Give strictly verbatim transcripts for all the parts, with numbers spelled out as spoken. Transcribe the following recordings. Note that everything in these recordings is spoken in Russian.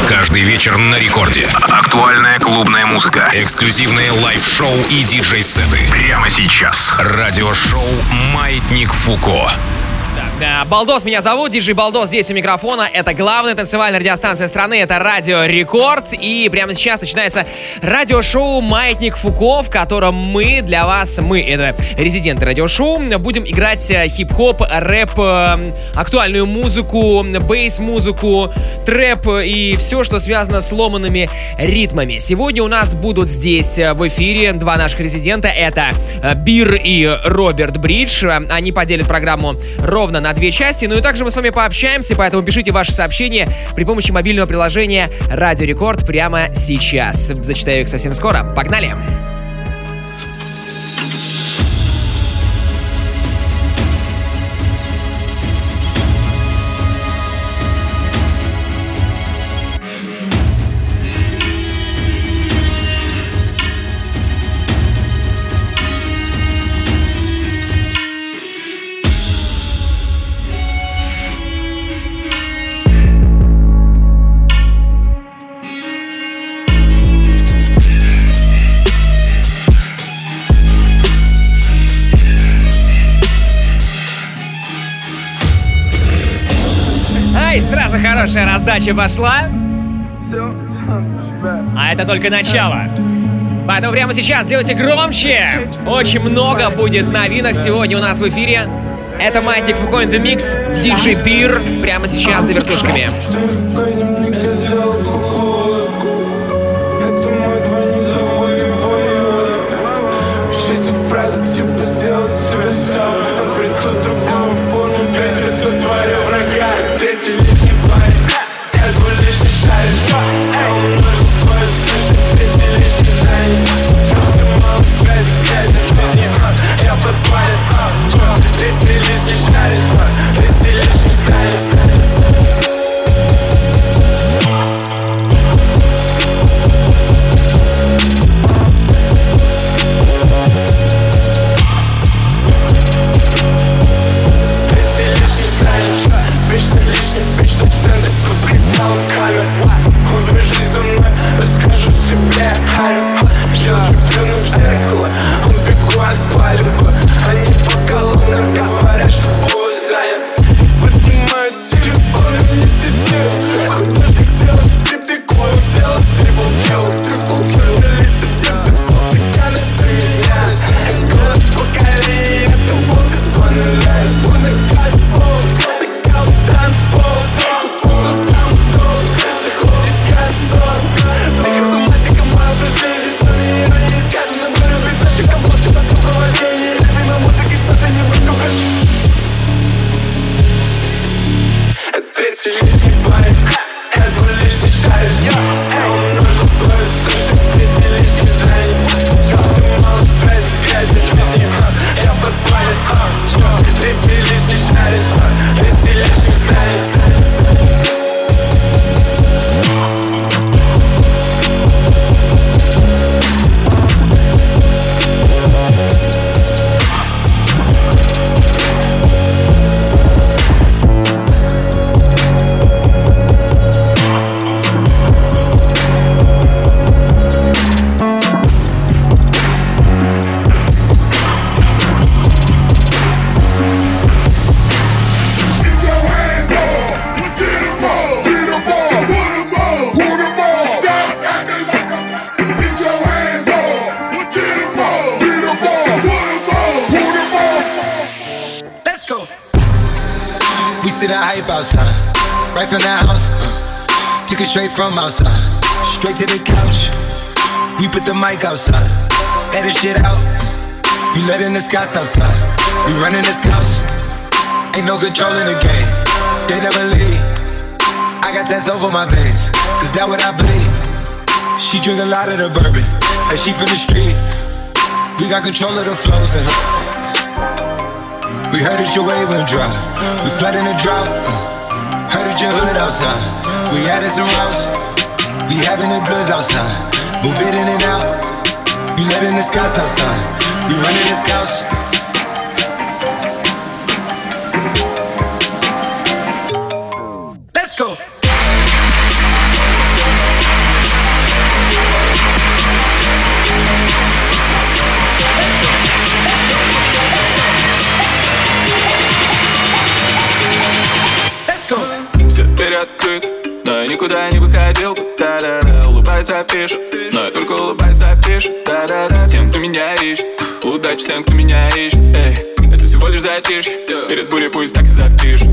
Каждый вечер на рекорде. Актуальная клубная музыка. Эксклюзивные лайв-шоу и диджей-сеты. Прямо сейчас. Радиошоу «Маятник Фуко». Балдос меня зовут, диджей Балдос здесь у микрофона. Это главная танцевальная радиостанция страны, это Радио Рекорд. И прямо сейчас начинается радиошоу «Маятник Фуко», в котором мы для вас, мы, это резиденты радиошоу, будем играть хип-хоп, рэп, актуальную музыку, бейс-музыку, трэп и все, что связано с ломаными ритмами. Сегодня у нас будут здесь в эфире два наших резидента. Это Бир и Роберт Бридж. Они поделят программу ровно на две части. Ну и также мы с вами пообщаемся, поэтому пишите ваши сообщения при помощи мобильного приложения Радио Рекорд прямо сейчас. Зачитаю их совсем скоро. Погнали! Сразу хорошая раздача пошла. А это только начало. Поэтому прямо сейчас сделайте громче. Очень много будет новинок сегодня у нас в эфире. Это Маятник Фуко in the Mix, диджей Бир. Прямо сейчас за вертушками. Straight from outside, straight to the couch. We put the mic outside, edit shit out. We letting the scouts outside, we running the scouts. Ain't no control in the game, they never leave. I got tats over my veins, cause that what I bleed. She drink a lot of the bourbon, and she from the street. We got control of the flows in her. We heard that your wave went dry, we flooding the drought. Heard that your hood outside. We added some routes, we having the goods outside. Move it in and out, we letting the scouts outside. We running the scouts. Let's go. дверь открыта, но я никуда не выходил. Да-да-да, улыбайся, пишет, но я только улыбайся, пишет. Да-да-да, тем, кто меня ищет, удачи всем, кто меня ищет. Эй, это всего лишь затишье, перед бурей пусть так и запишет.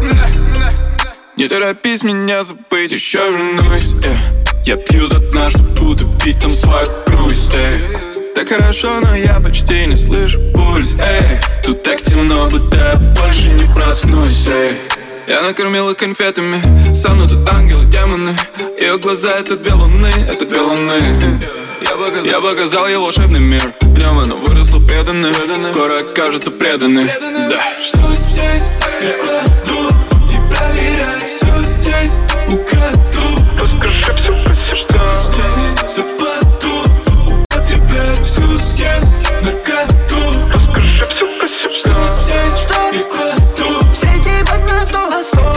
Не торопись меня забыть, еще вернусь. Я пью до дна, чтобы утопить там свою грусть. Эй. Так хорошо, но я почти не слышу пульс. Эй. Тут так темно, будто я больше не проснусь. Эй. Я накормил их конфетами, со мной тут ангелы, демоны. Ее глаза — это две луны, это две луны. Я показал, я показал ей волшебный мир. В нем она выросла преданной, скоро окажется преданной. Да. Что здесь? Я кладу и проверяю. Все здесь украду. Подскажи все, что здесь совпаду. Употребляю всю съесть на коду. Подскажи все, что здесь я кладу. Все эти под на стол,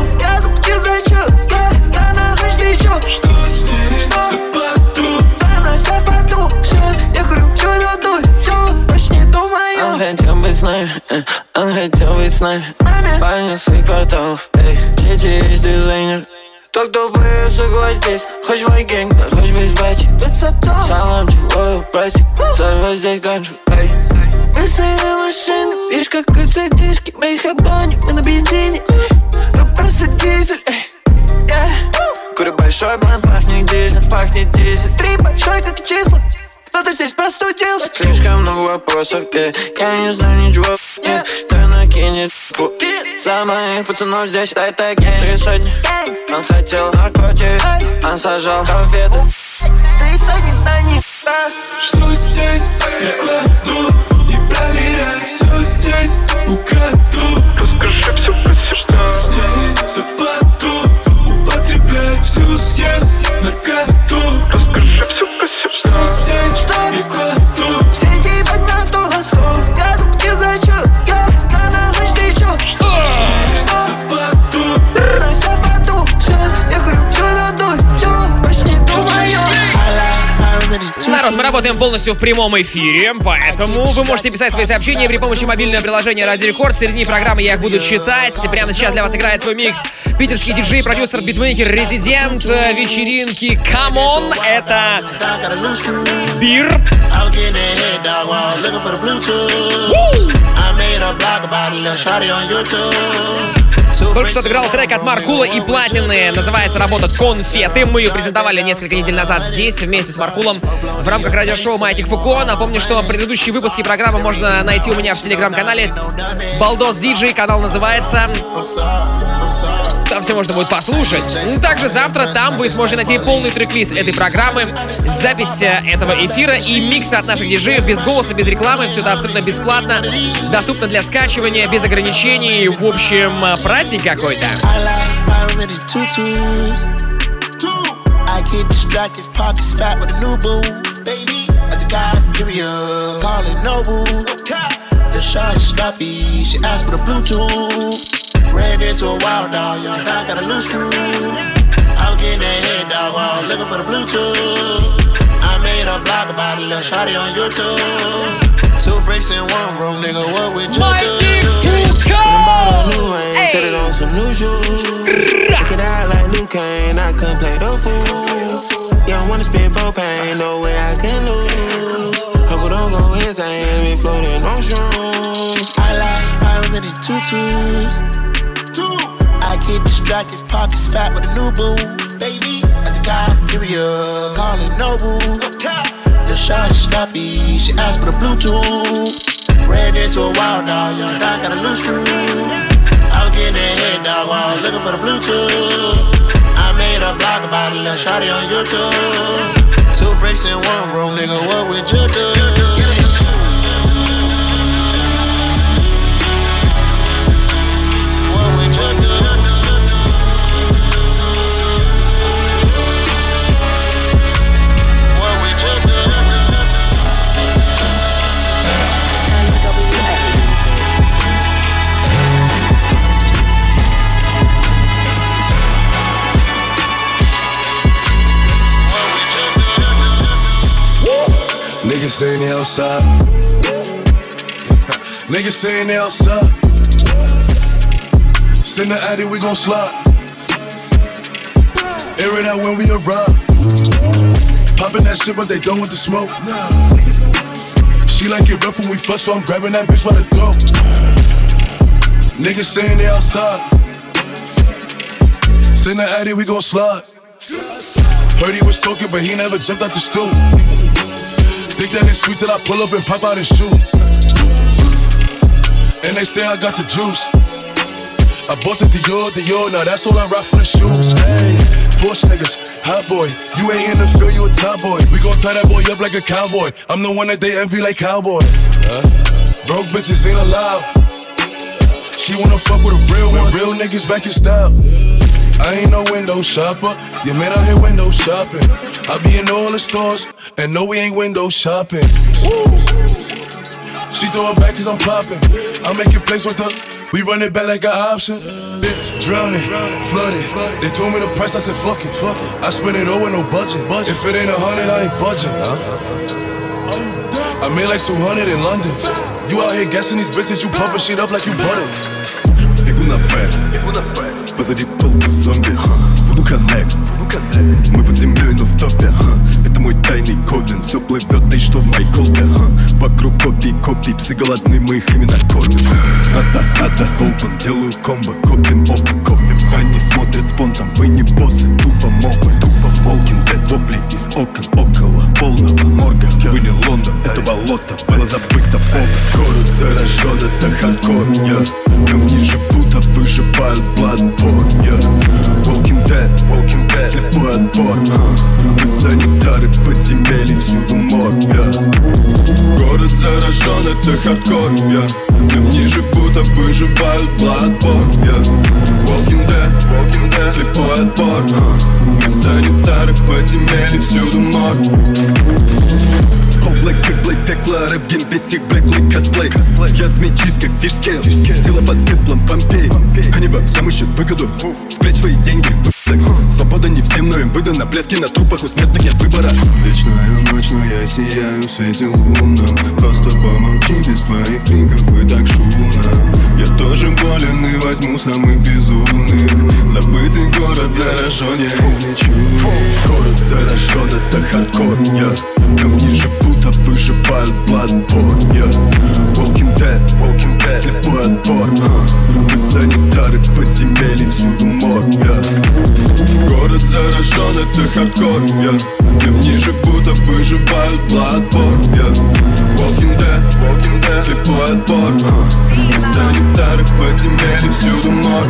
я заплатил за счет. Я, я нахожусь еще. Что здесь совпаду. Она вся в поту. Все, я говорю, все дадут. Все, почти думаю. Он хотел быть с нами, э, он хотел быть с нами. Парни своих кварталов, эй, все эти есть дизайнер. Тот, кто боится гвоздей, хочешь мой гэнг, да хочешь быть батей. Салам тебе, братик, сорвай здесь ганджу, эй. Быстрая машина, видишь, как крутятся диски. Мы их обгоним, мы на бензине. Ну просто дизель, эй, yeah. Курю большой блант, пахнет дизель, пахнет дизель. Три большой, как и числа. Кто-то здесь простудился. Слишком много вопросов, yeah. Я не знаю ничего, yeah. Да накинет фу. За моих пацанов здесь, дай так, три сотни. Он хотел наркотик, он сажал конфеты. Три сотни в здании, да. Что здесь я кладу и проверяю. Все здесь украду. Подскажи все, что здесь совпаду. Употребляю всю съесть на коду. Подскажи все, что здесь я кладу. Все эти под на стол, я заплатил за счет. Я, я нахожусь еще. Что? Что? Совпаду. Она вся в поту. Все, я говорю, все дадут. Все, почти думаю. Народ, мы работаем полностью в прямом эфире, поэтому вы можете писать свои сообщения при помощи мобильного приложения Радио Рекорд. В середине программы я их буду читать. Прямо сейчас для вас играет свой микс питерский диджей, продюсер, битмейкер, резидент вечеринки Come On. Это Бир. Только что отыграл трек от Маркула и Платины. Называется работа «Конфеты». Мы ее презентовали несколько недель назад здесь, вместе с Маркулом, в рамках радиошоу «Маятник Фуко». Напомню, что предыдущие выпуски программы можно найти у меня в телеграм-канале Балдос Диджей. Канал называется... Там все можно будет послушать. Также завтра там вы сможете найти полный трек-лист этой программы, запись этого эфира и миксы от наших диджеев без голоса, без рекламы. Все это абсолютно бесплатно, доступно для скачивания, без ограничений. В общем, праздник какой-то. Ran into a wild dog, young dog got a loose screw. I'm getting that head dog, while looking for the Bluetooth. I made a blog about a little shawty on YouTube. Two freaks in one room, nigga, what would you do? Bought a new ring, set it on some new shoes. Look it out like Luke Kane, I couldn't play the fool. You don't wanna spend propane, no way I can lose. Couple don't go insane, we floating on shrooms. I like pyramid tutus. I get distracted, pockets fat with a new boo. Baby, at the cafeteria, calling Nobu. The shot is snappy, she asked for the Bluetooth. Ran into a wild dog, young dog got a loose screw. I was getting that head dog while looking for the Bluetooth. I made a blog about a little shawty on YouTube. Two freaks in one room, nigga, what would you do? Niggas saying they outside. Niggas saying they outside. Send the addy, we gon' slide. it out when we arrive. Popping that shit, but they don't want the smoke. She like it rough when we fuck, so I'm grabbing that bitch by the throat. Niggas saying they outside. Send the addy, we gon' slide. Heard he was talking, but he never jumped out the stool. Think that it's sweet till I pull up and pop out his shoe. And they say I got the juice. I bought the Dior, Dior, now that's all I rock for the shoes. Hey, Porsche niggas, hot boy. You ain't in the field, you a top boy. We gon' tie that boy up like a cowboy. I'm the one that they envy like cowboy. Huh? Broke bitches ain't allowed. She wanna fuck with a real one. Real niggas back in style. I ain't no window shopper. Yeah, man, out here window shopping. I be in all the stores, and no, we ain't window shopping. Woo. She throw it back cause I'm popping. I'm making plays with her. We run it back like an option. Bitch, drowning, flooded. They told me the price, I said fuck it, fuck it. I spent it all with no budget. If it ain't a hundred, I ain't budging. I made like two hundred in London. You out here guessing these bitches, you pumping shit up like you butter. Бегу на Б, бегу на Б. Позади толпы зомби. Voodoo Connect, мы под землей, но в топе. Это мой тайный ковен. Все плывет, да и что в моей колбе. Вокруг копий, копий, псы голодны, мы их именно кормим. Ата, ата, open, делаю комбо, копим, опа, копим. Они смотрят спонтом, вы не боссы, тупо мобы. Тупо Walking Dead, вопли из окон, около полного морга. Вы не Лондон, это болото, было забыто Бога. Город заражен, это хардкор, я. Днем ниже пута выживают Bloodborne, я. Walking Dead, Walking Dead, слепой отбор, мы санитары подземелья, всюду мор, я. Город заражен, это хардкор, я. Днем ниже пута выживают Bloodborne, я. Walking Dead, Walking Dead, слепой отбор, мы санитары подземелья, всюду мор. Облак и блейд, пекло, рэп-гейм, весь их блеклый косплей. Я змеичист, как фишскейл, дела под пеплом Помпей. Они во всем ищут выгоду, спрячь свои деньги, выплак. Свобода не всем, но им выдана, блески на трупах, у смертных нет выбора. Вечную ночь, но я сияю в свете лунном. Просто помолчи без твоих криков, и так шумно. Я тоже болен и возьму самых безумных. Забытый город заражен, я излечу. Город заражен, это хардкор, я. Днем ниже пута выживают Bloodborne, я. Walking Dead, Walking Dead, слепой отбор, мы санитары подземелья, всюду мор, я. Город заражен, это хардкор, я. Днем ниже пута выживают Bloodborne, я. Walking Dead, Walking Dead, слепой отбор, мы санитары подземелья, всюду мор.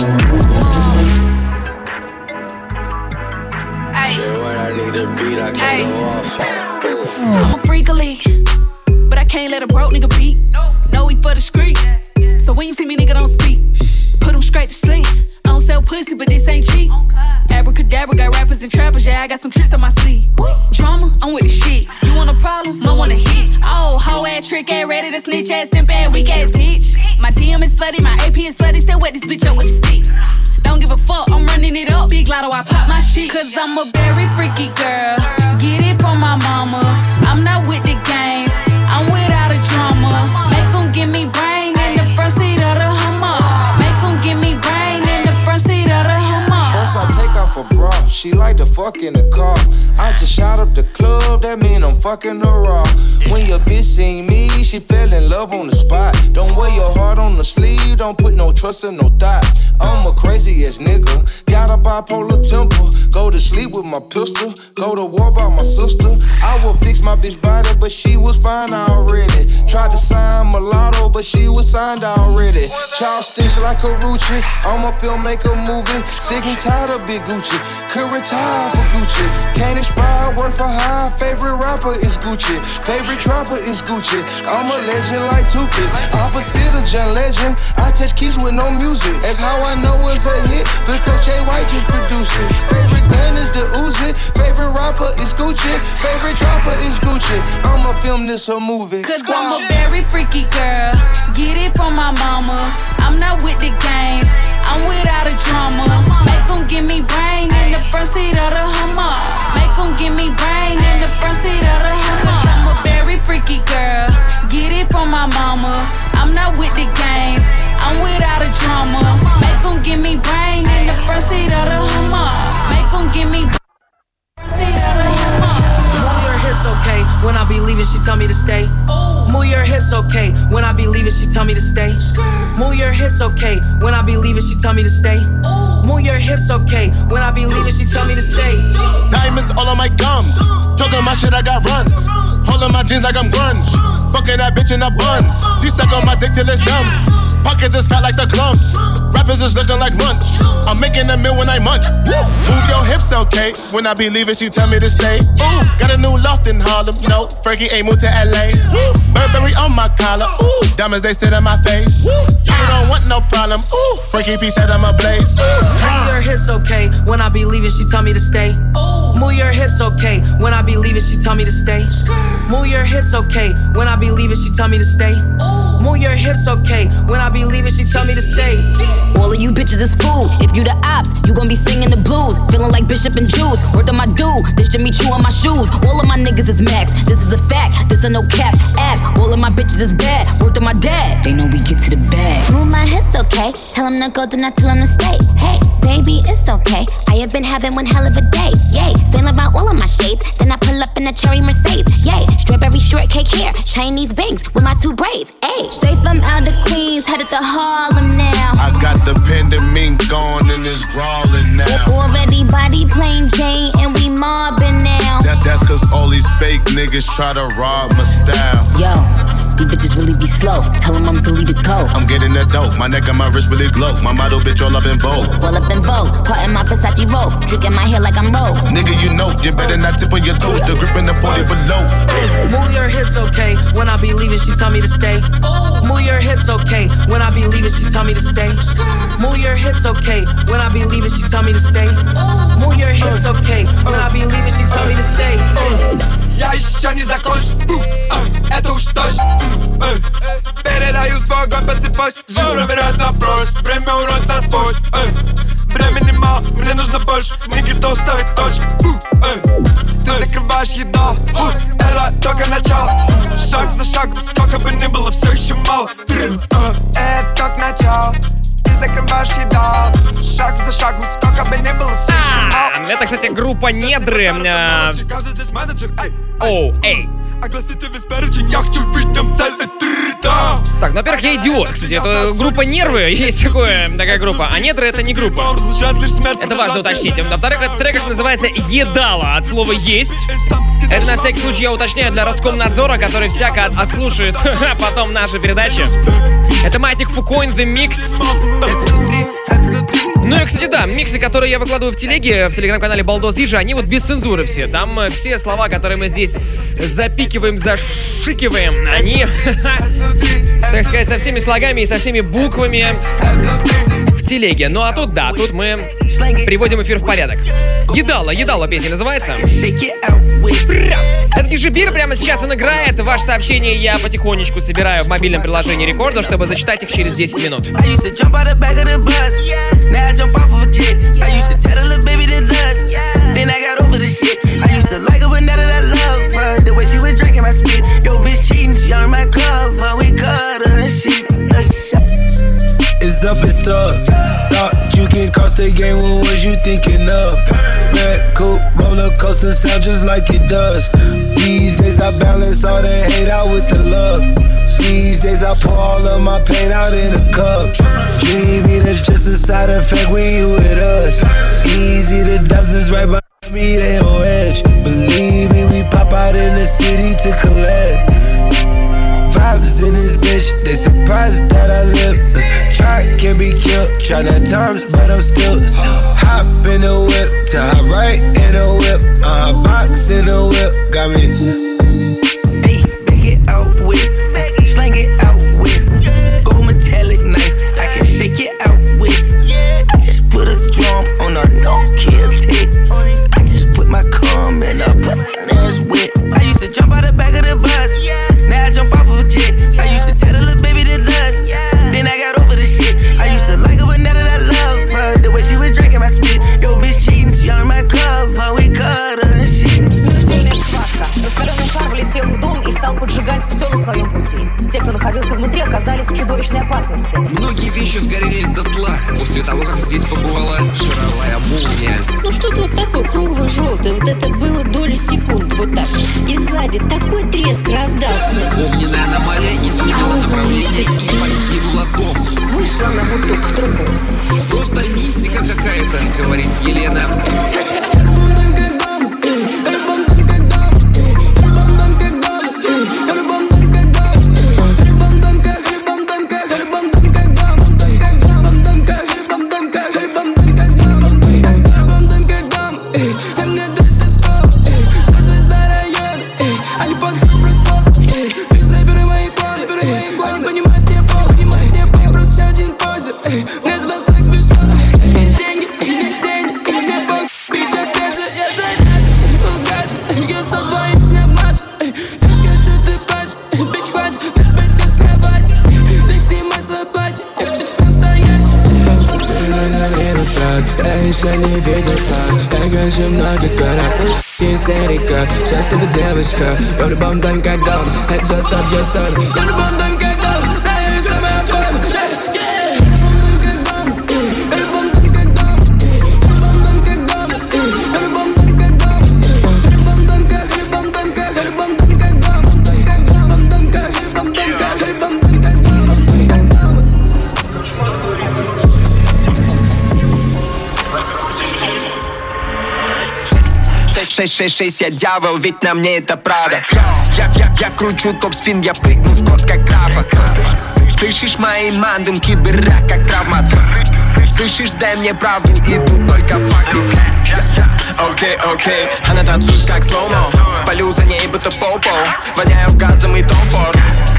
Shit, when I need a beat, I can't go off. I'm a freak of league, but I can't let a broke nigga beat. No, we for the streets, so when you see me, nigga, don't speak. Put him straight to sleep. I don't sell pussy, but this ain't cheap. Abracadabra, got rappers and trappers, yeah, I got some tricks on my sleeve. Drama, I'm with the shit. You want a problem? I want a hit. Oh, hoe ass, trick ass, ready to snitch ass, simp ass, weak ass bitch. My D M is slutty, my A P is slutty, still wet this bitch up with a stick. Don't give a fuck, I'm running it up. Big lotto, I pop my shit. Cause I'm a very freaky girl. Get it from my mama. I'm not with the games, I'm without a drama. Make them give me brain in the front seat of the Hummer. Make them give me brain in the front seat of the Hummer. First I take off a bra, she like to fuck in the car. I just shot up the club, that mean I'm fucking her raw. When your bitch seen me, she fell in love on the spot. Don't wear your heart on the sleeve, don't put no trust in no thought. I'm a crazy ass nigga, got a bipolar temper. Go to sleep with my pistol, go to war by my sister. I will fix my bitch body, but she was fine already. Tried to sign mulatto, but she was signed already. Child stitch like a Rucci, I'm a filmmaker movie. Sick and tired of Big Gucci, could retire for Gucci. Can't expire, work for high. Favorite rapper is Gucci, favorite trapper is Gucci. I'm a legend like Tupac, opposite of John Legend. I touch keys with no music, that's how I know it's a hit, because Jay White just produced it. Favorite gun is the Uzi, favorite rapper is Gucci, favorite trapper is Gucci. I'ma film this a movie. Cause I'm a very freaky girl, get it from my mama. I'm not with the games, I'm without a drama. Make them give me brain in the front seat of the Hummer. Make them give me brain in the front seat of the Hummer. Cause I'm a very freaky girl, get it from my mama. I'm not with the games, I'm without a drama. Make them give me brain in the front seat of the Hummer. Make them give me tell me to stay. Move your hips, okay. When I be leaving, she tell me to stay. Move your hips, okay. When I be leaving, she tell me to stay. Move your hips, okay. When I be leaving, she tell me to stay. Diamonds all on my gums. Talking my shit, I got runs. Holding my jeans like I'm grunge. Fucking that bitch in the buns. She suck on my dick till it's numb. Pockets is fat like the clumps. Rappers is looking like lunch. I'm making a meal when I munch. Woo. Move your hips, okay. When I be leaving, she tell me to stay. Ooh, got a new loft in Harlem. No, Frankie ain't moved to L A. Woo. Burberry on my collar. Ooh, diamonds they sit in my face. Woo. You don't want no problem. Ooh, Frankie P said I'm a blaze. Ooh. Move your hips, okay. When I be leaving, she tell me to stay. Move your hips, okay. When I be leaving, she tell me to stay. Move your hips, okay. When I be leaving, she tell me to stay. Move your hips, okay. When I be leaving, she tell me to stay. All of you bitches is food. If you the ops, you gon' be singing the blues. Feeling like Bishop and Juice. Word on my dude, this Jimmy Choo on my shoes. All of my niggas is max. This is a fact. This a no cap app. All of my bitches is bad. Word on my dad. They know we get to the bag. Move my hips, okay. Tell him to go, do not tell him to stay. Hey, baby, it's okay. I have been having one hell of a day. Yay, sailing about all of my shades. Then I pull up in a cherry Mercedes. Yay, strawberry shortcake hair. Chinese bangs with my two braids. Ayy, straight from out the Queens, headed to Harlem now. I got the pendant gone and it's crawling now. Already body plain Jane and we mobbing now. That, that's cause all these fake niggas try to rob my style. Yo, these bitches really be slow. Tell them I'm Billy the Go. I'm getting the dope. My neck and my wrist really glow. My model bitch all up in Vogue. All up in Vogue. Caught in my Versace robe. Tricking my hair like I'm Rogue. Nigga, you know, you better not tip on your toes. The grip in the forty below. Move your hips, okay. When I be leaving, she tell me to stay. Move your hips, okay. When I be leaving, she tell me to stay. Move your hips, okay. When I be leaving, she tell me to stay. Move your hips, okay. When I be leaving, she tell me to stay. Я еще не закончу, это уж точно. Передаю свой огонь по цепочке. Живу, проверяют на прочь. Время урод нас позже. Времени мало, мне нужно больше. Не готов ставить точку. Ты закрываешь еду, это только начало. Шаг за шагом, сколько бы ни было, все еще мало. Это только начало. Ты закрываешь еду, шаг за шагом, сколько бы ни было, все еще мало. Это, кстати, группа Недры. Оу, эй. Так, ну, во-первых, я идиот, кстати, это группа Нервы, есть такое, такая группа, а Недры это не группа. Это важно уточнить. Во-вторых, этот трек называется «Едало», от слова «есть». Это на всякий случай я уточняю для Роскомнадзора, который всяко отслушает потом наши передачи. Это Маятник Фуко in the Mix. Ну и, кстати, да, миксы, которые я выкладываю в телеге, в телеграм-канале Балдос Диджей, они вот без цензуры все. Там все слова, которые мы здесь запикиваем, зашикиваем, они, так сказать, со всеми слогами и со всеми буквами в телеге. Ну а тут, да, тут мы приводим эфир в порядок. Едало, едало песня называется. Это диджей Бир, прямо сейчас он играет. Ваше сообщение я потихонечку собираю в мобильном приложении Рекорда, чтобы зачитать их через десять минут. Jump off of a jet. I used to tell a little baby to dust. Then I got over the shit. I used to like her, but now that I love her, the way she was drinking my spit. Yo, bitch cheating, she on my cover. We cut her and shit. It's up and stuck. Thought you can cross the game, what was you thinking of? Red coupe, roller coaster sound just like it does. These days I balance all the hate out with the love. These days I pour all of my pain out in a cup. Dreamy, that's just a side effect when you with us. Easy, the dozens right behind me, they on edge. Believe me, we pop out in the city to collect. Vibes in this bitch, they surprised that I live. Try can't be killed, try not times, but I'm still, still. Hop in the whip, to hop right in the whip. Uh, box in the whip, got me. Hey, bag it out west, slang it out west. Gold metallic knife, I can shake it out west. I just put a drum on a no-kill tick. I just put my cum in a pussy ass wet. I used to jump out the back of the bus. Now I jump off of a jet. I used to tell the little baby to dust. Then I got over the shit. I used to like her, but now that I love her, the way she was drinking my spit. Yo, bitch cheating, she on my cover. We cut her and shit. Раскаленный шар влетел в дом и стал поджигать все на своем пути. Те, кто находился внутри, оказались в чудовищной опасности. Многие вещи сгорели дотла после того, как здесь побывала шаровая молния. Ну что-то вот такое кругло-желтое, вот это было доли секунды. вот так. И сзади такой треск раздался. Огненная аномалия изменила направление и погибла дом. Вышла на гудок в трубу. Просто мистика какая-то, говорит Елена. Я не видел так, я хочу многих городов. Истерика, сейчас ты бы девочка. Я в любом доме как дом, это just up, just up. Я в любом доме как дом, нравится моя бомба. шесть шесть шесть, я дьявол, ведь на мне это правда. Я, я, я кручу топ-спин, я прыгну в код как графа. Слышишь мои мандым, кибера как травмат. Слышишь, дай мне правду, и тут только факты. Окей, окей, она танцует как слоумо. Полю за ней, будто попо. Воняю газом и Том Форд.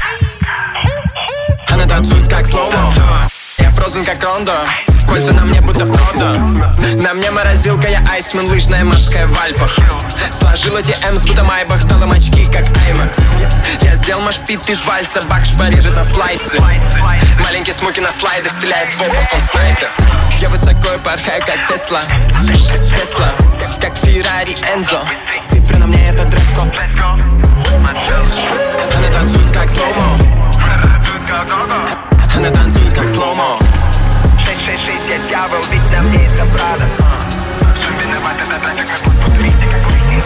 Она танцует как слоумо. Я фрозен как Рондо. Кольца на мне будто Фродо. На мне морозилка, я айсмен, лыжная морская в Альпах. Сложила ди эм с будто Майбах, дал им очки как Аймакс. Я сделал машпит из вальса, бак шпарежет на слайсы. Маленький смоки на слайдер, стреляет в опыт, он снайпер. Я высоко и порхаю как Тесла. Тесла, как, как Феррари Энзо. Цифры на мне это дресс-код. Она танцует как слоумо. Она танцует как слоумо. шесть шесть шесть, я дьявол, ведь на мне это правда. Все виноват, это трафик, мы тут в туризе, как литинг.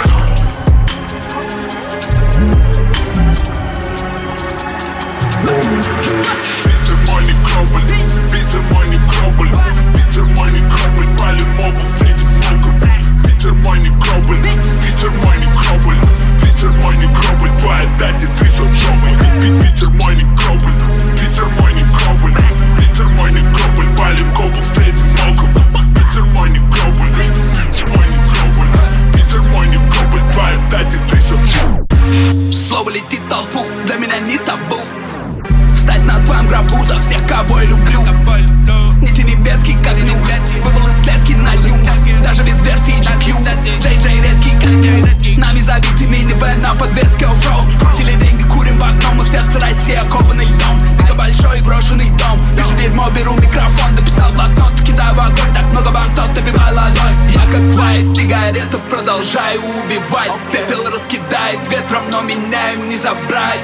Ветер мой не кробль, ветер мой не кробль. Ветер мой не кробль, палит мобов, встретит много. Ветер мой не кробль, ветер мой не кробль. Ветер мой не кробль, твоя дать, ты со джобой. Ветер мой не кробль, ветер мой не кробль. Ветер мой не кробль, палит мобов, встретит много. Ветер мой не кробль, ветер мой не кробль. Ветер мой не кробль, твоя дать, ты со джобой. Слово летит в толпу, для меня не табу. Встать на твоем гробу за всех, кого я люблю. Не тяни ветки, как ню. Выпал из клетки на ню. Даже без версии джи кью. Джей Джей редкий, как ню. Нами забитый минивэн на подвеске оффроуд. Скрутили деньги, курим в окно. Мы в сердце России, окопанный дом. Дико большой брошенный дом. Вижу дерьмо, беру микрофон. Дописал блокнот, кидаю в огонь. Так много банкнот, добивай ладонь. Я как твоя сигарета, продолжаю убивать. Пепел раскидает ветром, но меня им не забрать.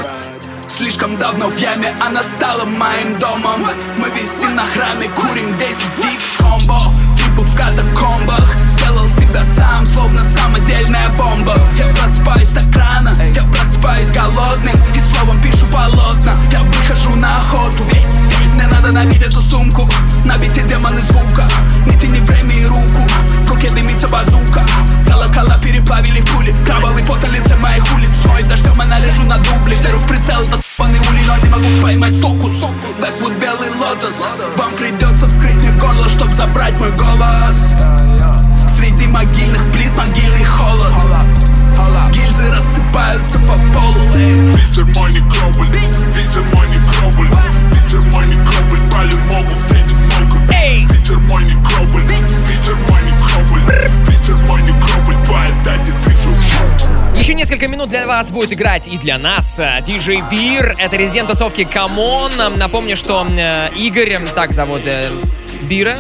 Слишком давно в яме, она стала моим домом. Мы висим на храме, курим десять икс комбо. Трипы в катакомбах. Сделал себя сам, словно самодельная бомба. Я просыпаюсь так рано, я просыпаюсь голодным. И словом пишу полотна. Я выхожу на охоту. Мне надо набить эту сумку. Набить и демоны звука. Не тяни время и руку. В руке дымится базука. Колокола переплавили в пули. Кровавый пот на лице моих улиц. Свой дождем она лежу на дубле. Беру в прицел этот ебаный улей, но не могу поймать фокус. Бэквуд, белый лотос. Вам придется вскрыть мне горло, чтоб забрать мой голос. Среди могильных плит могильный холод. Гильзы рассыпаются по полу. Ветер мой не кробль, ветер мой не кробль. Ветер мой не кробль, палит мобов, встретит много. Ветер мой не кробль, ветер мой не кробль. Ветер мой не кробль, твоя дать, ты со. Еще несколько минут для вас будет играть и для нас диджей Бир. Это резидент тусовки Come On. Напомню, что э, Игорь, так зовут э, Бира.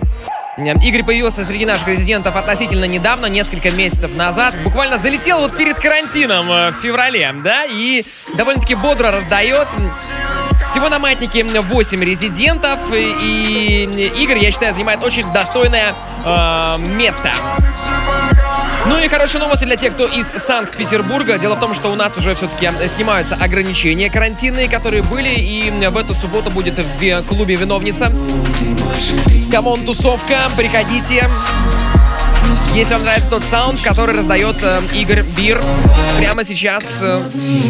Игорь появился среди наших резидентов относительно недавно, несколько месяцев назад. Буквально залетел вот перед карантином в феврале, да, и довольно-таки бодро раздает. Всего на Маятнике восемь резидентов, и Игорь, я считаю, занимает очень достойное э, место. Ну и хорошие новости для тех, кто из Санкт-Петербурга. Дело в том, что у нас уже все-таки снимаются ограничения карантинные, которые были, и в эту субботу будет в клубе «Виновница». Камон, тусовка, приходите. Если вам нравится тот саунд, который раздает э, Игорь Бир прямо сейчас. Э...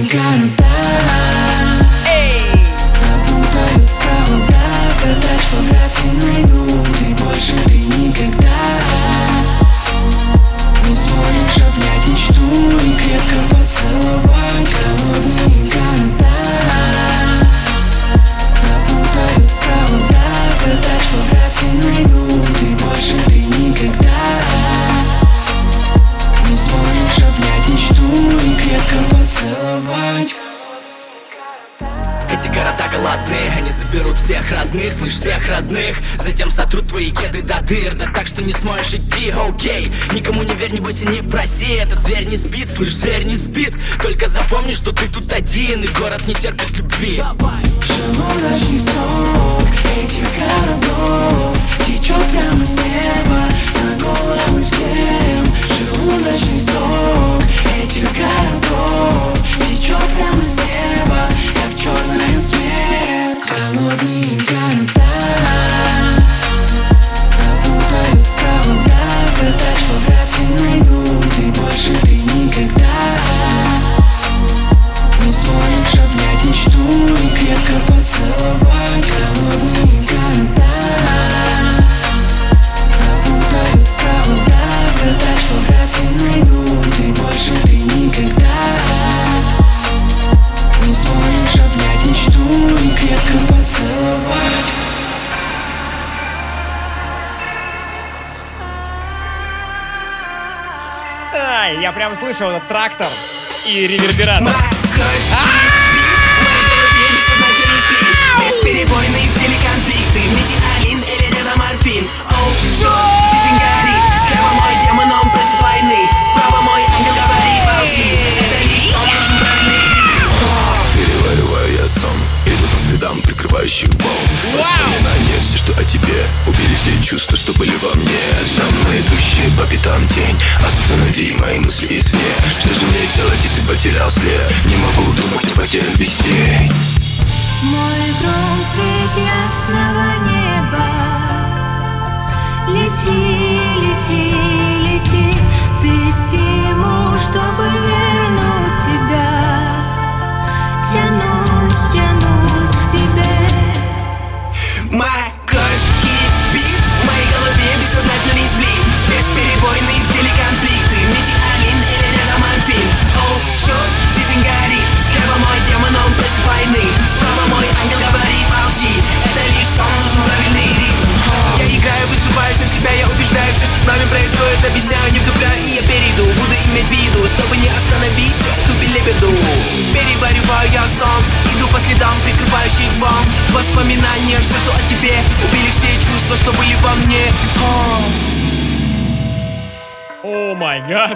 Эй! Запутают в проводах, так что вряд ли найдут, и больше ты никогда не сможешь обнять мечту и крепко поцеловать. Холодные города запутают в проводах, так что вряд ли найдут, и больше ты никогда не сможешь обнять мечту и крепко поцеловать. Эти города голодные, они заберут всех родных, слышь, всех родных. Затем сотрут твои кеды до дыр, да так, что не сможешь идти, окей. Никому не верь, не бойся, не проси, этот зверь не спит, слышь, зверь не спит. Только запомни, что ты тут один, и город не терпит любви. Желудочный сок этих городов течет прямо с неба на головы всем. Желудочный сок этих городов течет прямо с неба, как черная смерть. Голодные города запутают в проводах, так что вряд ли найдут, и больше ты никогда не сможешь обнять мечту и крепко поцеловать. Голодные города запутают в проводах, так что вряд ли найдут, и больше ты никогда не сможешь обнять мечту и крепко поцеловать. Ай, я прям слышал этот трактор и ревербератор. Бесперебойный в теле конфликты, метиалин или дезоморфин. Оу, жизнь горит, слева мой демон, он просит войны, справа мой ангел говорит молчи, это лишь сон, нужен правильный ритм. Перевариваю я сон, иду по следам прикрывающих волн. Воспоминания, все, что о тебе, убили все чувства, что были во мне. За мной идущие по пятам тень, останови мои мысли извне. Что же мне делать, если потерял след? Не могу думать о потерях без тень. Мой гром среди ясного неба. Лети, лети, лети. Ты стимул, чтобы вернуть тебя. Тянусь, тянусь к тебе. Моя кровь кипит, в моей голове бессознательный сблин. Бесперебойный в теле конфликты, метиалин или дезоморфин. Оу, черт, жизнь горит, слева мой демон, он просит войны, справа мой ангел говорит молчи, это лишь сон, нужен правильный ритм. Я играю, высыпаю сам себя, я убеждаю, все, что с нами происходит, объясняю, не вдупляю, и я перейду. Буду иметь в виду, чтобы не остановить всю эту белибеду. Перевариваю я сон, иду по следам прикрывающих волн. В воспоминаниях все, что о тебе, убили все чувства, что были во мне. О май гад.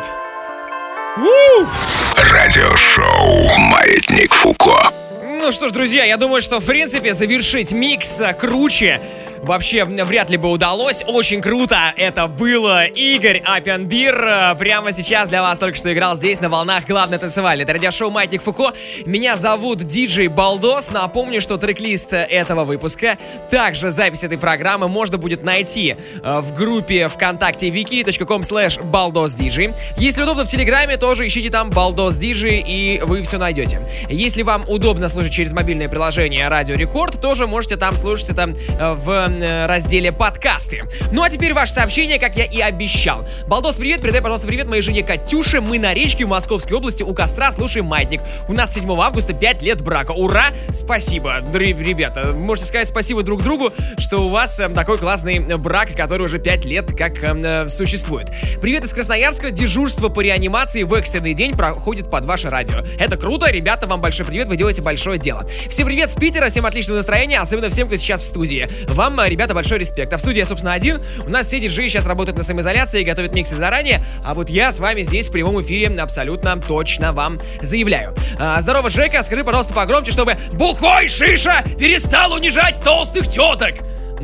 Радиошоу «Маятник Фуко». Ну что ж, друзья, я думаю, что в принципе завершить микс круче вообще вряд ли бы удалось. Очень круто это было. Игорь Аппенбир прямо сейчас для вас только что играл здесь на волнах главной танцевальной. Это радиошоу «Маятник Фуко». Меня зовут диджей Балдос. Напомню, что трек-лист этого выпуска, также запись этой программы можно будет найти в группе ВКонтакте вики точка ком слэш балдосдиджей. Если удобно в Телеграме, тоже ищите там балдосдиджей, и вы все найдете. Если вам удобно слушать через мобильное приложение Радио Рекорд, тоже можете там слушать это в разделе подкасты. Ну а теперь ваше сообщение, как я и обещал. Балдос, привет, передай, пожалуйста, привет моей жене Катюше. Мы на речке в Московской области у костра слушаем «Маятник». У нас седьмого августа пять лет брака. Ура! Спасибо, ребята. Можете сказать спасибо друг другу, что у вас такой классный брак, который уже пять лет как э, существует. Привет из Красноярска. Дежурство по реанимации в экстренный день проходит под ваше радио. Это круто, ребята, вам большой привет, вы делаете большое дело. Всем привет с Питера, всем отличного настроения, особенно всем, кто сейчас в студии. Вам, ребята, большой респект. А в студии я, собственно, один. У нас все диджеи сейчас работают на самоизоляции и готовят миксы заранее, а вот я с вами здесь в прямом эфире абсолютно точно вам заявляю. А, здорово, Жека, скажи, пожалуйста, погромче, чтобы бухой шиша перестал унижать толстых теток.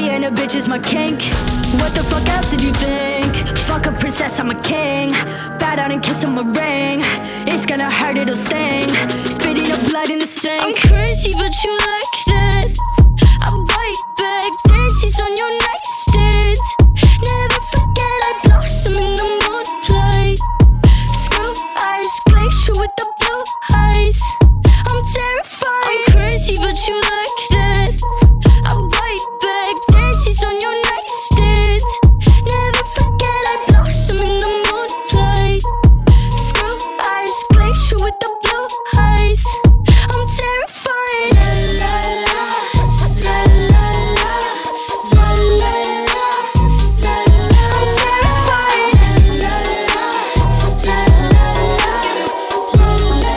Being a bitch is my kink. What the fuck else did you think? Fuck a princess, I'm a king. Bow down and kiss him a ring. It's gonna hurt, it'll sting. Spitting up blood in the sink. I'm crazy, but you like that. I bite back, daisies on your nightstand. Never forget I blossom in the moonlight. Screw eyes, glacier with the blue eyes. I'm terrified. I'm crazy, but you like that. I bite back, daisies on your nightstand. Never forget I blossom in the moonlight. Screw eyes, glacier with the blue eyes. I'm terrified. La la la, la la la, la la la, la la. I'm terrified. La la la, la la la,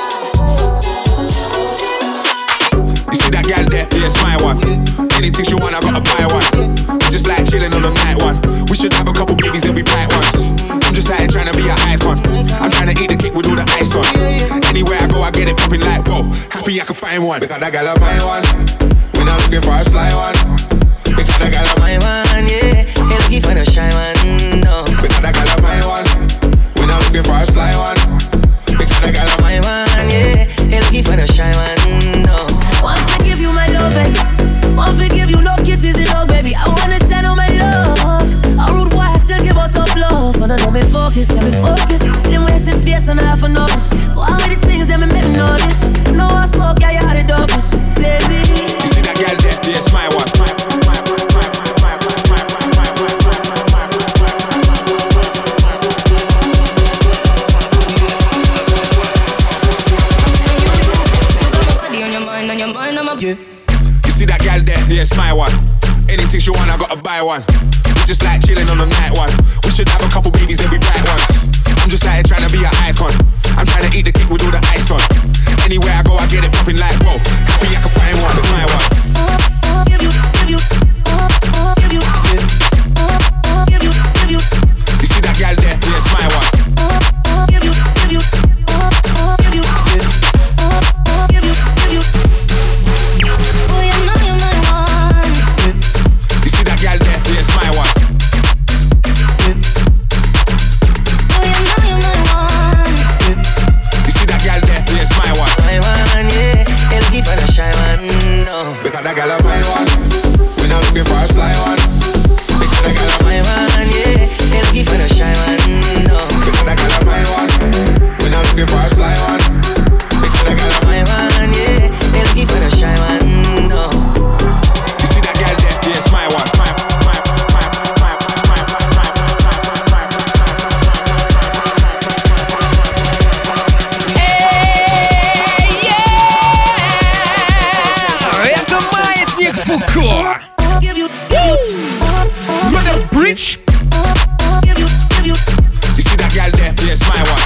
I'm terrified. You see that gal there? Yeah, it's my one. Anything she want, I gotta buy one. We just like chilling on the night one. We should have a couple babies, they'll be bright ones. I'm just like trying to be an icon. I'm trying to eat the cake with all the ice on. Anywhere I go, I get it popping like whoa. Happy I can find one. Because that gal of my one. We're not looking for a sly one. Because that gal of my one, yeah. Ain't looking for no shy one, no. Because that gal of my one. We're not looking for a sly one. Because that gal of my one, yeah. Ain't looking for no shy one, no. Once I give you my love, baby. Once I give you love, kisses and all, baby. I wanna channel my love. A rude boy, I still give out tough love. Wanna know me focus, let me focus. Slim waist and face and half a nose. Go on with the things that me make me notice. No I smoke, yeah, you are the dopest, baby. You see that gal there? Yeah, it's my one. Yeah. You see that gal there? Yeah, it's my one. Anything she want, I gotta buy one. We just like chilling on the night one. We should have a couple babies, they'll be bright ones. I'm just like trying to be an icon. I'm trying to eat the cake with all the ice on. Anywhere I go, I get it popping like whoa. Happy I can find one, it's my one. Give you, give you, give you, give you, give you. You see that gal there? Yeah, it's my one. Give you, give you, give you, give you, give you. Oh, you know you're my one. You see that gal there? Yeah, it's my one. Oh, you know you're my one. You see that gal there? Yeah, it's my one. My one, yeah. Ain't looking for no shy one, no. Because that gal of my one. We're not looking for a sly one. Because that gal of my one, yeah. Ain't looking for no shy one, no. Because that gal of my one. We're not looking for a sly one. Because that gal of my one, yeah. Ain't looking for no shy one, no. You see that gal there? Yeah, it's my one. My, my, my, my, my, my, Эй, yeah! Это Маятник Фуко. Brother Bridge. You see that gal there? Yeah, it's my one.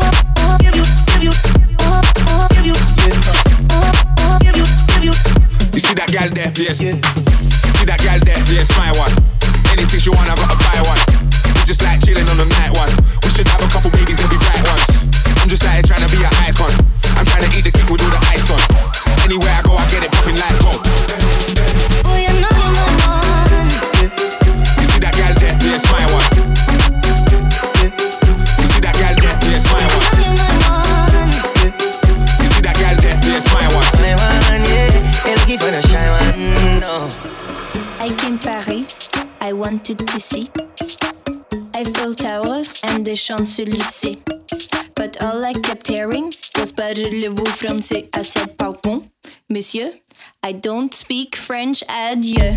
You see that gal there? Yes. You see that gal there? Yeah, it's my one. Anything she want, I gotta buy one. We just like chilling on the night one. We should have a couple babies, they'll be bright ones. I'm just like trying to be an icon. I'm trying to eat the cake with all the ice on. Anywhere I go, I get it popping like whoa. Oh, you know you're my one. You see that gal there? Yeah, it's my one. You see that gal there? Yeah, it's my one. You see that gal there? Yeah, it's my one. My one, yeah. Ain't looking for no shy one, no. I came Paris, I wanted to see Eiffel Tower and the Champs-Élysées. But all I kept hearing was parlez-vous français? I said pardon, monsieur, I don't speak French, adieu.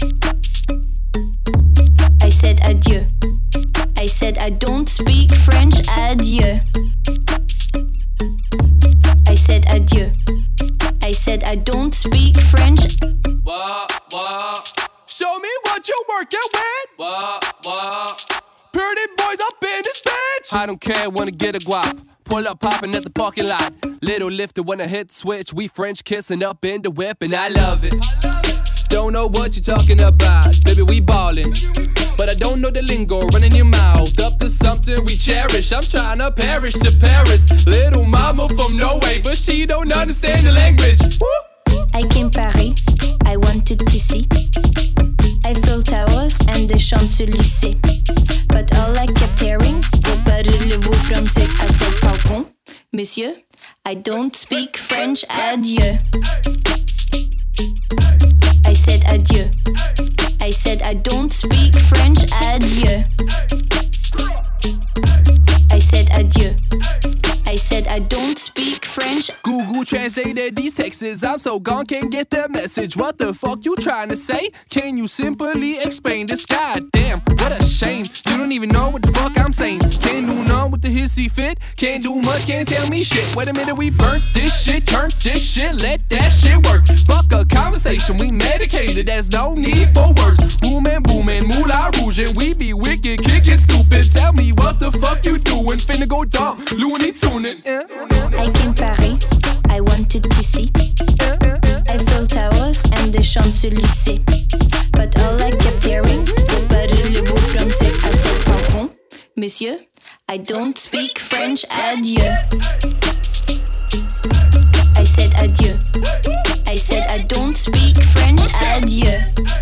I said adieu. I said I don't speak French, adieu. I said adieu. I said I don't speak French. What, what? Show me what you're working with. What, what? Pretty boys up in this bitch. I don't care, wanna get a guap. Pull up poppin' at the parking lot. Little lifter when I hit switch. We French kissing up in the whip and I love it. Don't know what you're talking about. Baby, we ballin'. But I don't know the lingo, running your mouth up to something we cherish. I'm tryna perish to Paris. Little mama from Norway, but she don't understand the language. Woo! I came Paris, I wanted to see des Champs-Élysées. But all I kept hearing was parlez-vous français à ce balcon. Monsieur, I don't speak French, adieu. I said adieu. I said I don't speak French, adieu. I said adieu. I said I don't speak French. Google translated these texts. I'm so gone, can't get the message. What the fuck you trying to say? Can you simply explain this? Goddamn, what a shame. You don't even know what the fuck I'm saying. Can't do none with the hissy fit. Can't do much, can't tell me shit. Wait a minute, we burnt this shit, turned this shit, let that shit work. Fuck a conversation, we medicated. There's no need for words. Booming, booming, Moulin Rouge, and we be wicked, kicking stupid. Tell me what the fuck you doing? Finna go dumb, Looney Tuning. Eh? I came Paris, I wanted to see Eiffel Tower and the Champs-Élysées. But all I kept hearing was parlez-vous français à ce balcon. Monsieur, I don't speak French, adieu. I said adieu. I said I don't speak French, adieu.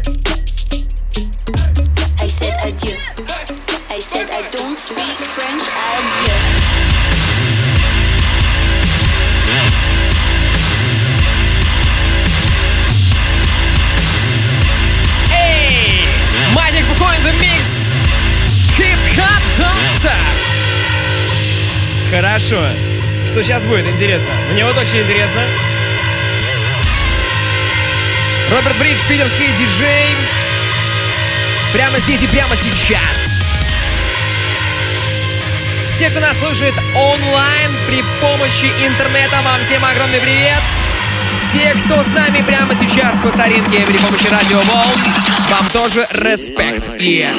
I said adieu. I said I don't speak French, adieu. Эй! Маятник Фуко in the mix! Хип-хоп don't stop! Хорошо. Что сейчас будет? Интересно. Мне вот очень интересно. Роберт Бридж, питерский диджей. Прямо здесь и прямо сейчас. Все, кто нас слушает онлайн при помощи интернета, вам всем огромный привет. Все, кто с нами прямо сейчас по старинке при помощи радиоволн, вам тоже респект. Yeah.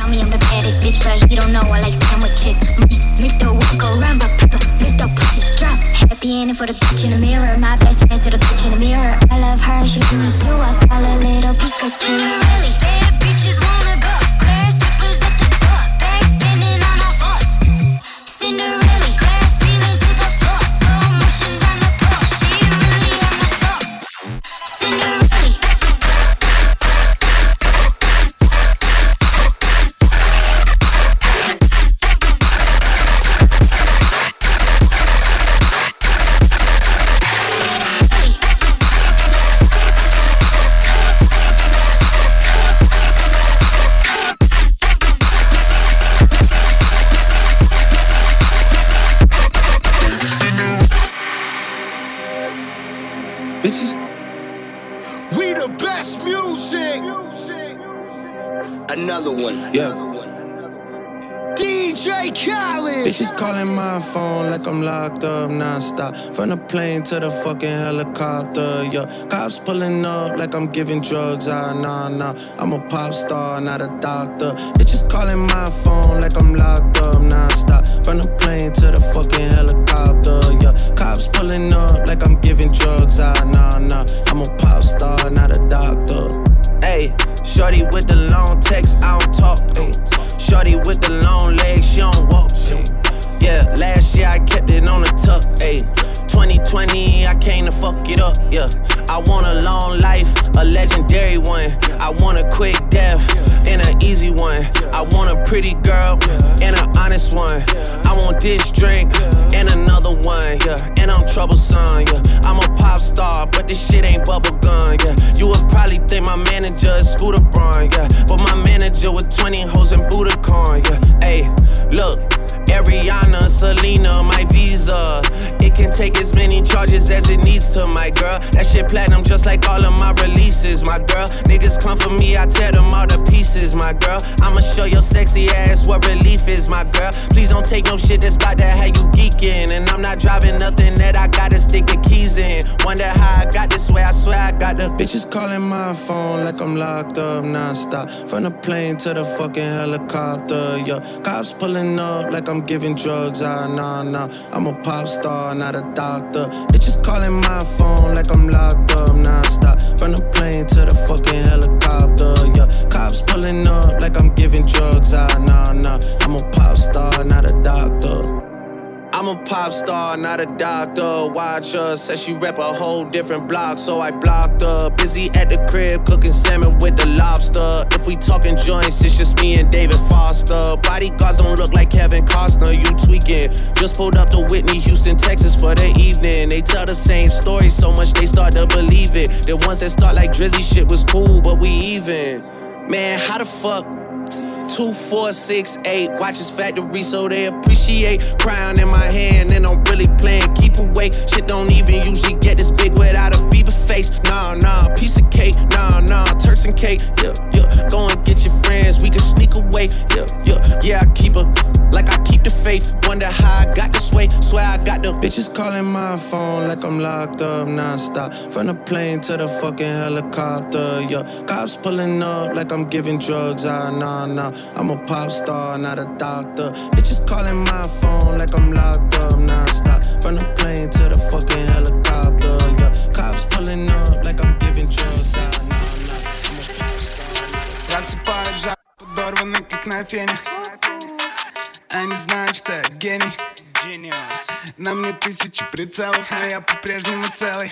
tell me I'm the baddest bitch, but he don't know I like sandwiches. Me, me throw walk around, but people, me throw pussy drop. Happy ending for the bitch in the mirror. My best friend to the bitch in the mirror. I love her, she do me too. I call her little Picasso. Really bad bitches wanna go. Glass slippers at the door. Back bending on all fours. Cinderella, glass ceiling to the floor. Slow motion down the floor. She really had my soul. Cinderella. Bitches, we the best music. Another one, yeah. D J Khaled. Bitches calling my phone like I'm locked up non-stop. From the plane to the fucking helicopter, yeah. Cops pulling up like I'm giving drugs, ah, nah, nah. I'm a pop star, not a doctor. Bitches calling my phone like I'm locked up non-stop. From the plane to the fucking helicopter, yeah. Cops pulling up like I'm giving drugs, ah, nah, nah. I'm a pop star, not a doctor. Ayy, shorty with the long text, I don't talk, ayy. Shorty with the long legs, she don't walk. Yeah, last year I kept it on the tuck. Ayy, twenty twenty, I came to fuck it up. Yeah, I want a long life, a legendary one. I want a quick death and an easy one. I want a pretty girl and an honest one. I want this drink and another one. Yeah, and I'm troublesome. Yeah, I'm a pop star, but this shit ain't bubblegum. Yeah, you would probably think my manager is Scooter Braun. Yeah, but my manager with twenty hoes and Budokan. Yeah, ayy, look. Ariana, Selena, my visa. It can take as many charges as it needs to, my girl. That shit platinum just like all of my releases, my girl. Niggas come for me, I tear them all to pieces, my girl. I'ma show your sexy ass what relief is, my girl. Please don't take no shit that's about to have you geeking. And I'm not driving nothing that I gotta stick the keys in. Wonder how I got this way, I swear I got the bitches calling my phone like I'm locked up non-stop. From the plane to the fucking helicopter, yeah. Cops pulling up like I'm giving drugs, ah, nah, nah. I'm a pop star, not a doctor. Bitches calling my phone like I'm locked up non-stop. From the plane to the fucking helicopter, yeah. Cops pulling up like I'm giving drugs, ah, nah, nah. I'm a pop star, not a doctor. I'm a pop star, not a doctor. Watch her, said she rep a whole different block, so I blocked her. Busy at the crib, cooking salmon with the lobster. If we talking joints, it's just me and David Foster. Bodyguards don't look like Kevin Costner, you tweaking. Just pulled up to Whitney, Houston, Texas for the evening. They tell the same story so much they start to believe it. The ones that start like Drizzy shit was cool, but we even. Man, how the fuck? Two, four, six, eight. Watch his factory so they appreciate. Crown in my hand and I'm really playing keep away. Shit don't even usually get this big without a Bieber face. Nah, nah, piece of cake. Nah, nah, Turks and cake. Yeah, yeah. Go and get your friends, we can sneak away. Yeah, yeah, yeah. I keep a like I keep the faith. Wonder how I got this way. Swear I got the bitches calling my phone like I'm locked up non-stop. From the plane to the fucking helicopter, yeah. Cops pulling up like I'm giving drugs, ah, nah, nah. I'm a pop star, not a doctor. Bitches calling my phone like I'm locked up non-stop. From the plane to the fucking helicopter, yeah. Cops pulling up like I'm giving drugs, ah, nah, nah. I'm a pop star. Просыпаюсь, жар подорванный, как на фене. Они знают, что я гений. На мне тысячи прицелов, но я по-прежнему целый.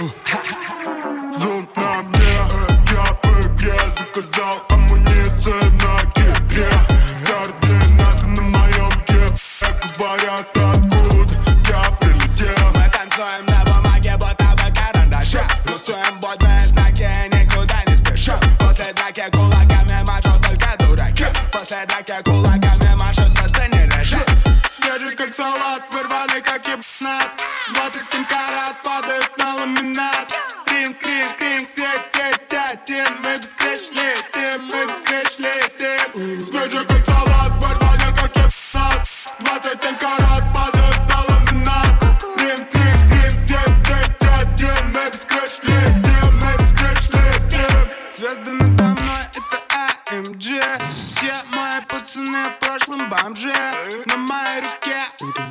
Зонт на мне, я в игре. Заказал амуниции на кипре. Координаты на моем кипре. Говорят, откуда я прилетел. Мы танцуем на бумаге, будто бы карандаше. Рисуем бодные знаки, никуда не спешим. После драки кулаками машут только дураки. После драки кулаками машут просто не реши. Свежий как салат, вырванный как ебнат. Двадцать семь карат падают на ламинат. Крим, крим, крим, крем, крем, тятин. Мы бескреч летим, мы бескреч летим. Свежий как салат, вырванный как ебнат. Двадцать семь карат падают на ламинат. Крим, крим, крем, крем, крем, тятин. Мы бескреч летим, мы бескреч летим. Звезды надо мной, это эй эм джи. Все мои бомже на моей руке.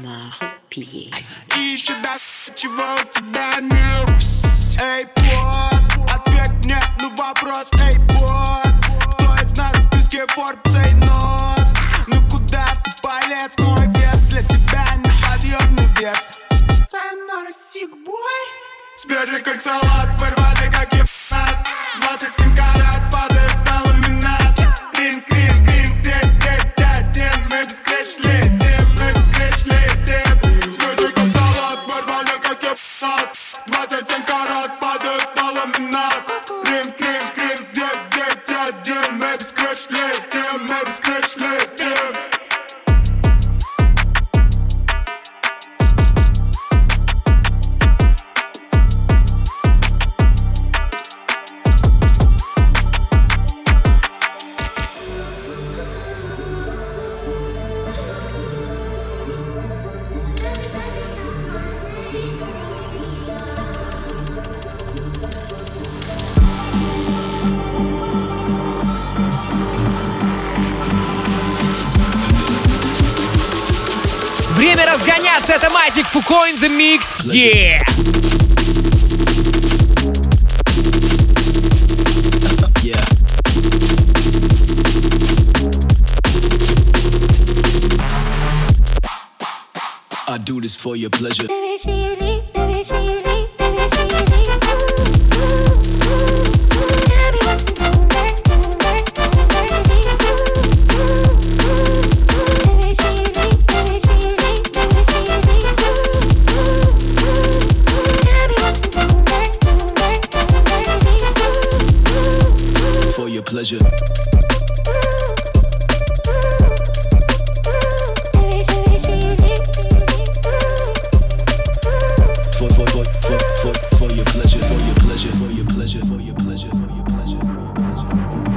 И еще да, чего у тебя нет? Эй, босс, ответь мне на вопрос. Эй, босс, кто из нас в списке Forbes? Эй, нос, ну куда ты полез? Мой вес для тебя неподъемный вес. Сайонара, sick boy. Свежий как салат, вырвали как ебанат. Двадцать семь карат, падает на ламинат. Ринг, ринг, ринг, десять, девять, один. Мы без крыш летим, мы без крыш летим. Свежий как салат, вырвали как ебанат. Двадцать семь карат, падает на ламинат. Ринг, ринг, ринг, десять, девять, один. Мы без крыш летим, мы без крыш летим. Время разгоняться, это Маятник Фуко in the mix, yeah! I do this for your pleasure. For your pleasure. For, for, for, for, for, for your pleasure, for your pleasure, for your pleasure, for your pleasure, for your pleasure, for your pleasure.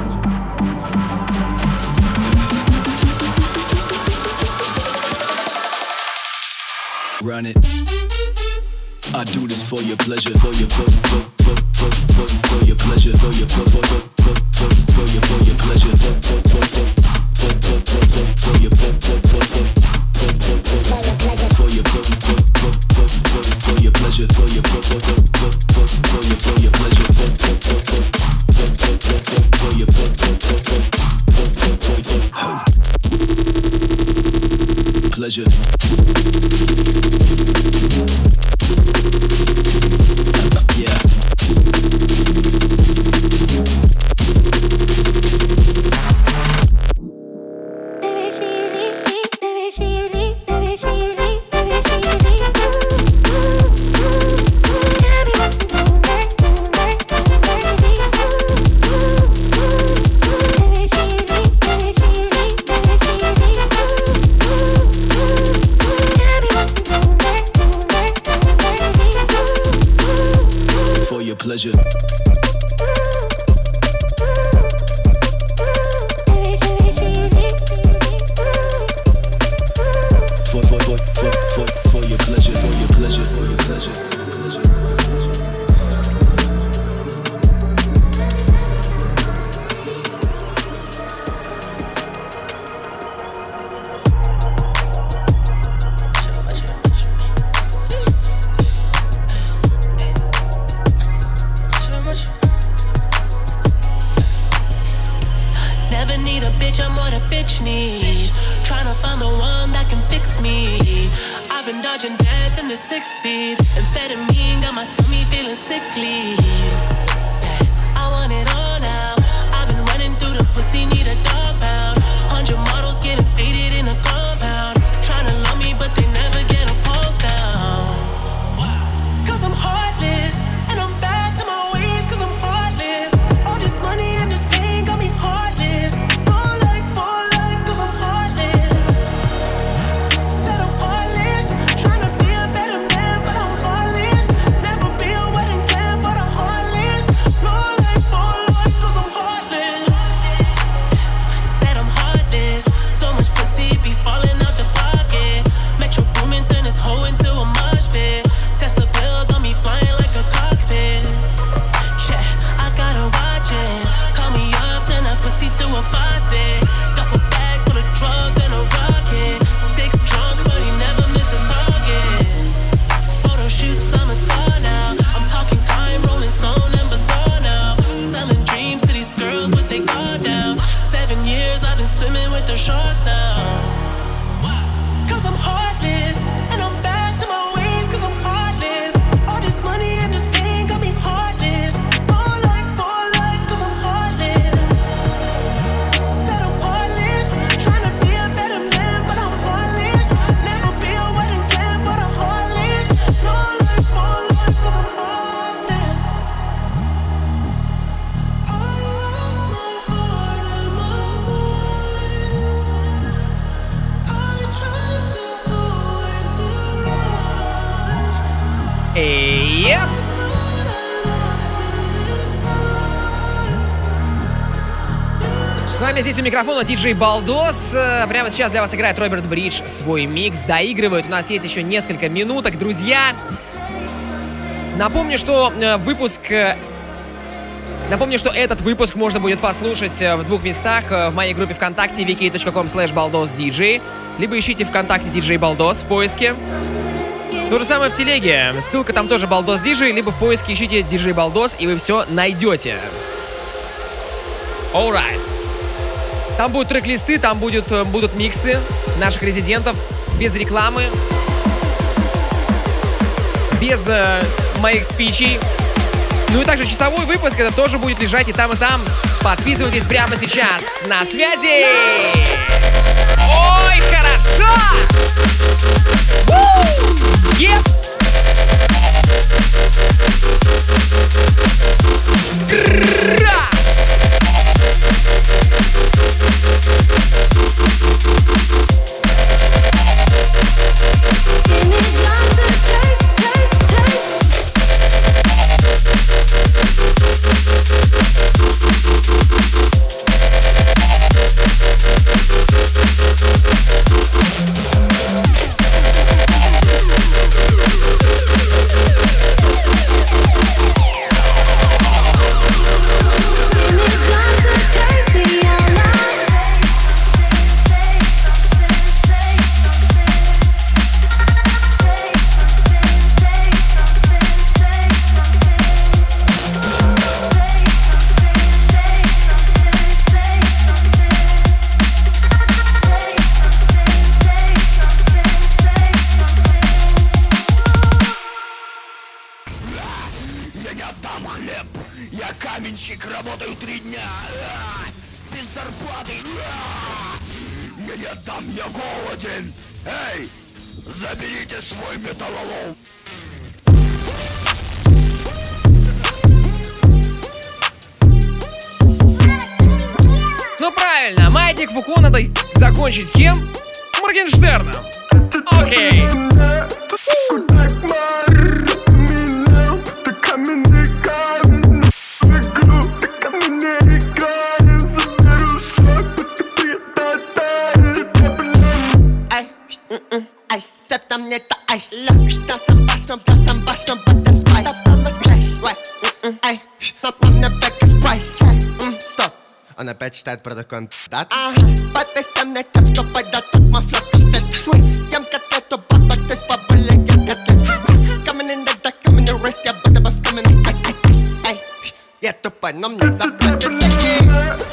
Run it. I do this for your pleasure, for your for, for, for, for, for, for your pleasure, for your for, for, for, for, for, for your for your pleasure, for, for, for, for, for, for, for, for, for your for, for, for, for, for, for, for, for your for, for, for, for, for, for your pleasure, for your for, for, for, for, for, for your for your pleasure, for, for, for, for, for, for, for, for, for your for, for, for, for, for, for, for, for pleasure. Pleasure. For, for, for, for, for, for your pleasure, for your pleasure, for your pleasure, for your pleasure. Dodging death in the six speed. Amphetamine got my stomach feeling sickly. Yeah, I want it all now. I've been running through the pussy, need a dog pound. Hundred models getting faded in a compound. Trying to love me, but they never get a pulse down. Cause I'm heartless, and I'm back to my ways. Cause I'm heartless. All this money and this pain got me heartless. All life, all life, cause I'm heartless. Said I'm heartless. Trying to be a better man, but I'm heartless. Never be a wedding plan, but I'm heartless. No life, all life. swimming with the sharks now. Cause I'm heartless, and I'm back to my ways cause I'm heartless. All this money and this pain got me heartless. More life, more life cause I'm heartless. Said I'm heartless, trying to be a better man but I'm heartless. Never be a wedding plan but I'm heartless. More life, more life cause I'm heartless. I lost my heart and my mind. I tried to always do right. Yep. С вами здесь у микрофона диджей Балдос. Э, Прямо сейчас для вас играет Роберт Бридж свой микс, доигрывает. У нас есть еще несколько минуток, друзья. Напомню, что э, выпуск... э, Напомню, что этот выпуск можно будет послушать э, в двух местах. э, В моей группе ВКонтакте ви кей точка ком слэш балдос диджей. Либо ищите ВКонтакте диджей Балдос в поиске. То же самое в телеге. Ссылка там тоже Балдос диджей. Либо в поиске ищите диджей Балдос, и вы все найдете. Alright. Там будут трек-листы, там будет, э, будут миксы наших резидентов. Без рекламы. Без э, моих спичей. Ну и также часовой выпуск, это тоже будет лежать и там, и там. Подписывайтесь прямо сейчас. На связи! Ой, хорошо! Еп! Ну правильно, Маятник Фуко надо закончить кем? Моргенштерном. Окей. Айс, степ на мне это айс. С носом башнем, с носом башнем, под the spice. Ай, на мне бэк из прайс. Стоп, он опять читает про такой дат. Ага, подпись мне так, что пойдет от мафлёк. Свой, ем котлету, баба, ты с бабулей, ем котлет. Coming in the dark, coming in the rest, я буду бы coming in. Ай, ай, ай, я тупой, но мне заплатят деньги.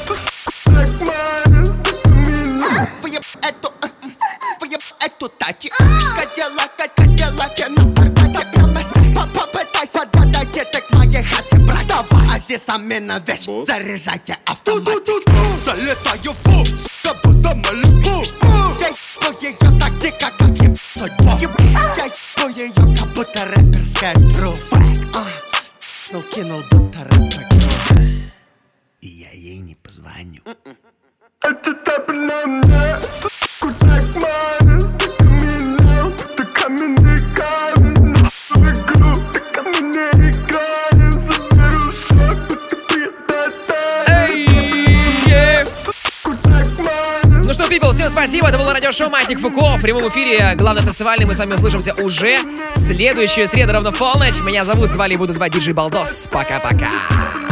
Выеб эту, выеб эту тачи. Кадиллак, кадиллак, я на арбате. Попытайся додать это к моей хате, брат. Давай, а здесь замена вещь. Заряжайте автоматик. Залетаю в пул, сука, буду малюку. Я ебу ее так дико, как ебу судьбу. Я ебу ее, как будто рэперская тру. Ну кинул, будто рэпер. И я ей не позвоню. Это так на мне, так мало. Ты меня, ты ко мне не кажешь. Игру, ты ко мне не играешь. Заберу шаг, ты приятная. Ну что, people, всем спасибо. Это было радиошоу Маятник Фуко. В прямом эфире, главное танцевальный. Мы с вами услышимся уже в следующую среду ровно в полночь. Меня зовут, звали и буду звать диджей Балдос. Пока-пока.